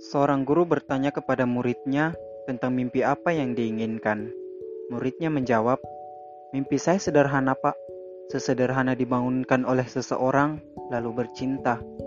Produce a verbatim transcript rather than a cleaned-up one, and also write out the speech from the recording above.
Seorang guru bertanya kepada muridnya tentang mimpi apa yang diinginkan. Muridnya menjawab, "Mimpi saya sederhana, Pak. Sesederhana dibangunkan oleh seseorang, lalu bercinta."